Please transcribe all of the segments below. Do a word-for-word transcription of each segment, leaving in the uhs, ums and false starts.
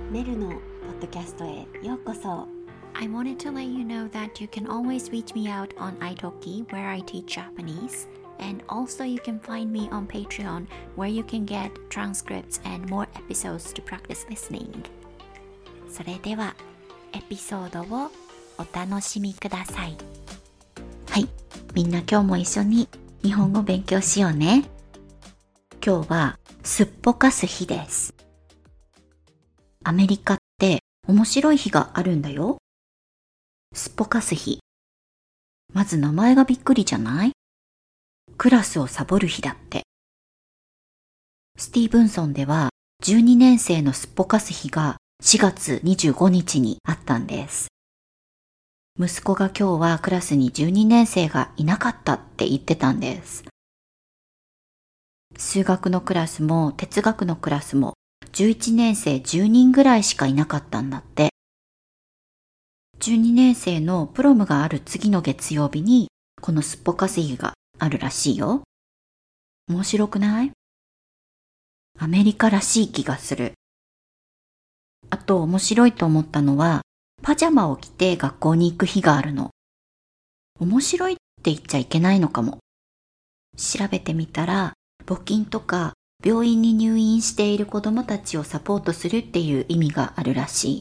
メルのポッドキャストへようこそ。 I wanted to let you know that you can always reach me out on italki where I teach Japanese, and also you can find me on Patreon where you can get transcripts and more episodes to practice listening. それではエピソードをお楽しみください。はい、みんな今日も一緒に日本語勉強しようね。今日はすっぽかす日です。アメリカって面白い日があるんだよ。すっぽかす日。まず名前がびっくりじゃない？クラスをサボる日だって。スティーブンソンではじゅうにねん生のすっぽかす日がしがつにじゅうごにちにあったんです。息子が今日はクラスにじゅうにねん生がいなかったって言ってたんです。数学のクラスも哲学のクラスもじゅういちねん生じゅうにんぐらいしかいなかったんだって。じゅうにねん生のプロムがある次の月曜日にこのすっぽかす日があるらしいよ。面白くない？アメリカらしい気がする。あと面白いと思ったのはパジャマを着て学校に行く日があるの。面白いって言っちゃいけないのかも。調べてみたら募金とか病院に入院している子どもたちをサポートするっていう意味があるらしい。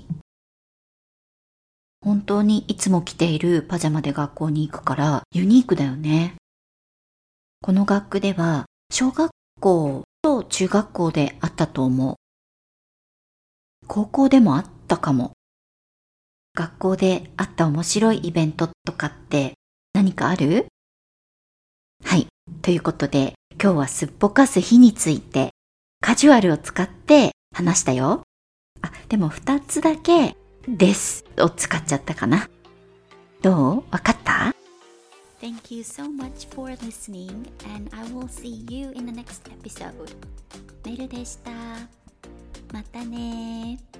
本当にいつも着ているパジャマで学校に行くからユニークだよね。この学区では小学校と中学校であったと思う。高校でもあったかも。学校であった面白いイベントとかって何かある？はい、ということで今日はすっぽかす日についてカジュアルを使って話したよ。あ、でもふたつだけですを使っちゃったかな。どう？わかった？ Thank you so much for listening and I will see you in the next episode. メルでした。またね。